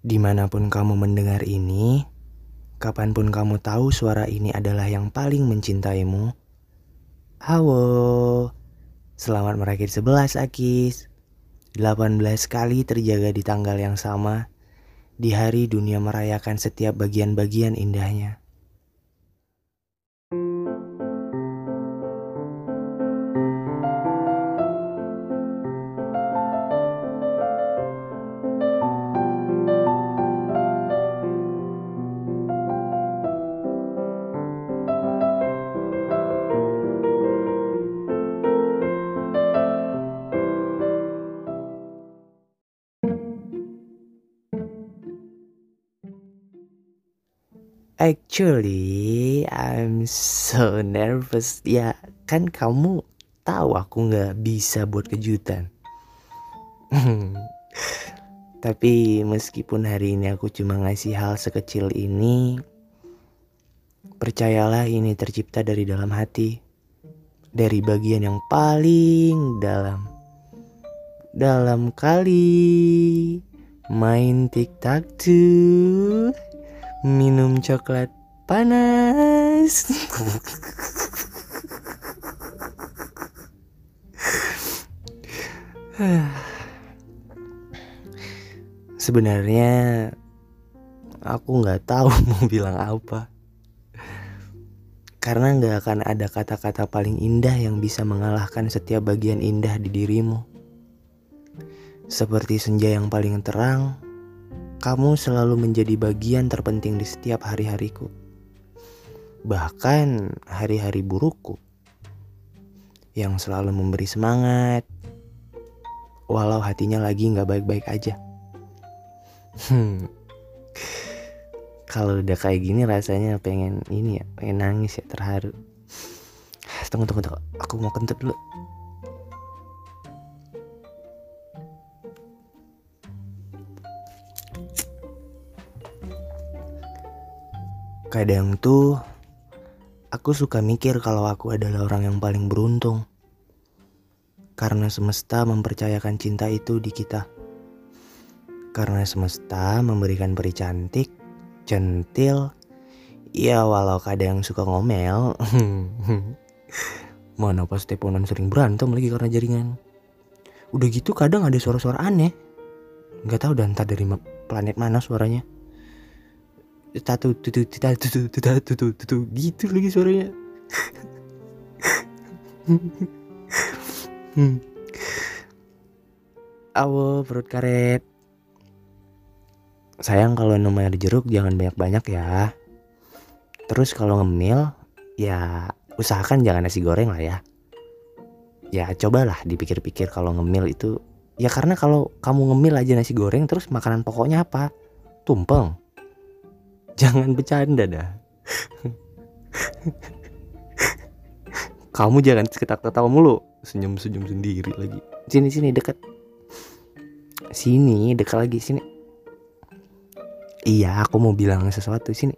Dimanapun kamu mendengar ini, kapanpun kamu tahu suara ini adalah yang paling mencintaimu. Halo, selamat merakit 11 Akis. 18 kali terjaga di tanggal yang sama, di hari dunia merayakan setiap bagian-bagian indahnya. Actually, I'm so nervous. Ya, kan kamu tahu aku nggak bisa buat kejutan. Tapi meskipun hari ini aku cuma ngasih hal sekecil ini, percayalah ini tercipta dari dalam hati. Dari bagian yang paling dalam. Dalam kali main tic-tac-toe, minum coklat panas. Sebenarnya aku nggak tahu mau bilang apa. Karena nggak akan ada kata-kata paling indah yang bisa mengalahkan setiap bagian indah di dirimu. Seperti senja yang paling terang, kamu selalu menjadi bagian terpenting di setiap hari-hariku. Bahkan hari-hari burukku. Yang selalu memberi semangat, walau hatinya lagi gak baik-baik aja. Kalau udah kayak gini rasanya pengen ini ya, pengen nangis ya, terharu. Tunggu, aku mau kentut dulu. Kadang tuh aku suka mikir kalau aku adalah orang yang paling beruntung. Karena semesta mempercayakan cinta itu di kita. Karena semesta memberikan peri cantik, centil, ya walau kadang suka ngomel. Mana pas teleponan sering berantem lagi karena jaringan. Udah gitu kadang ada suara-suara aneh. Gak tahu dan entah dari planet mana suaranya. Gitu lagi suaranya. Awo perut karet. Sayang kalau minum air jeruk jangan banyak-banyak ya. Terus kalau ngemil, ya usahakan jangan nasi goreng lah ya. Ya cobalah dipikir-pikir kalau ngemil itu. Ya karena kalau kamu ngemil aja nasi goreng terus makanan pokoknya apa? Tumpeng. Jangan bercanda dah. Kamu jangan ketawa-ketawa mulu. Senyum-senyum sendiri lagi. Sini dekat. Sini dekat lagi sini. Iya, aku mau bilang sesuatu sini.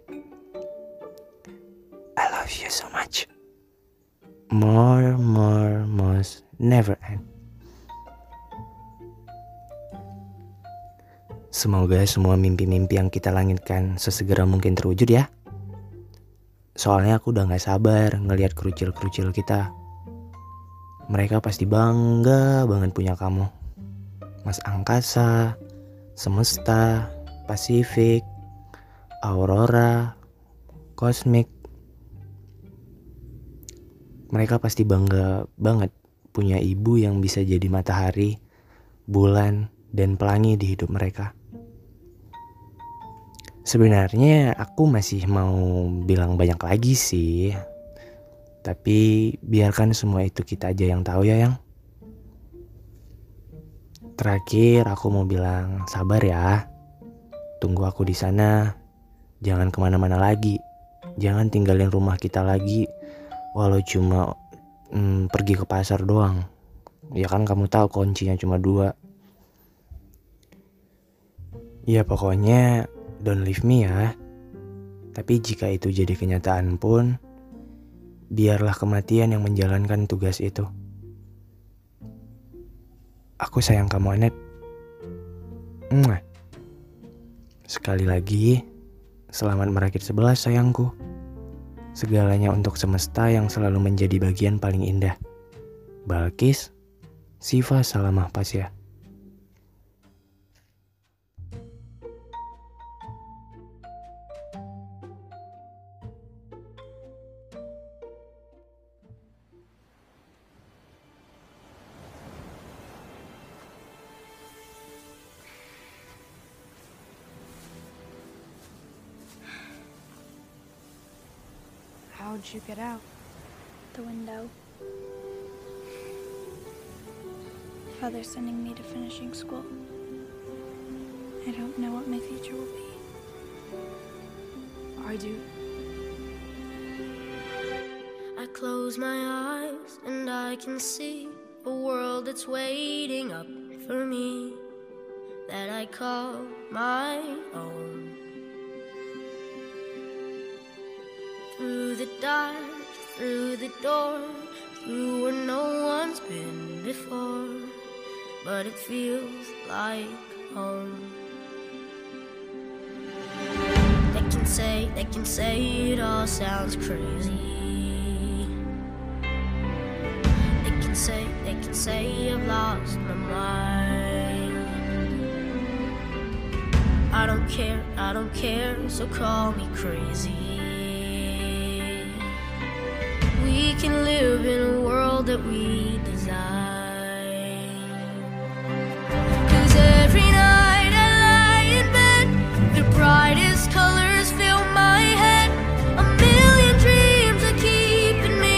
I love you so much. More, most, never end. Semoga semua mimpi-mimpi yang kita langitkan sesegera mungkin terwujud ya. Soalnya aku udah gak sabar ngelihat kerucil-kerucil kita. Mereka pasti bangga banget punya kamu. Mas Angkasa, Semesta, Pasifik, Aurora, Kosmik. Mereka pasti bangga banget punya ibu yang bisa jadi matahari, bulan, dan pelangi di hidup mereka. Sebenarnya aku masih mau bilang banyak lagi sih. Tapi biarkan semua itu kita aja yang tahu ya, Yang. Terakhir aku mau bilang sabar ya. Tunggu aku di sana. Jangan kemana-mana lagi. Jangan tinggalin rumah kita lagi. Walau cuma pergi ke pasar doang. Ya kan kamu tahu kuncinya cuma 2. Ya pokoknya don't leave me ya. Tapi jika itu jadi kenyataan pun, biarlah kematian yang menjalankan tugas itu. Aku sayang kamu, Anet. Mwah. Sekali lagi, selamat merakit 11 sayangku. Segalanya untuk semesta yang selalu menjadi bagian paling indah. Balkis, Siva Salamah Pasya. How'd you get out? The window. Father's sending me to finishing school. I don't know what my future will be. I do. I close my eyes and I can see a world that's waiting up for me, that I call my own. Through the dark, through the door, through where no one's been before, but it feels like home. They can say it all sounds crazy. They can say I've lost my mind. I don't care, so call me crazy. We can live in a world that we design. 'Cause every night I lie in bed, the brightest colors fill my head. A million dreams are keeping me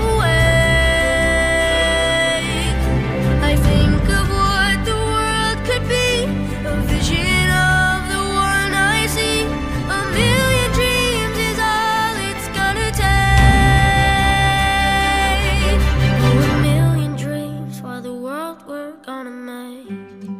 awake. I think of what the world could be, a vision of the one I see. A million dreams is all it's gonna take. Oh, a million dreams for the world we're gonna make.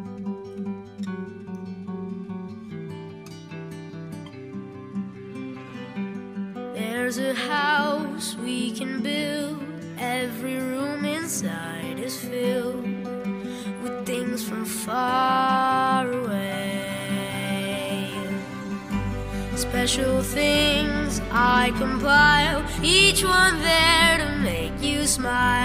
There's a house we can build. Every room inside is filled with things from far away. Special things I compile, each one there to make you smile.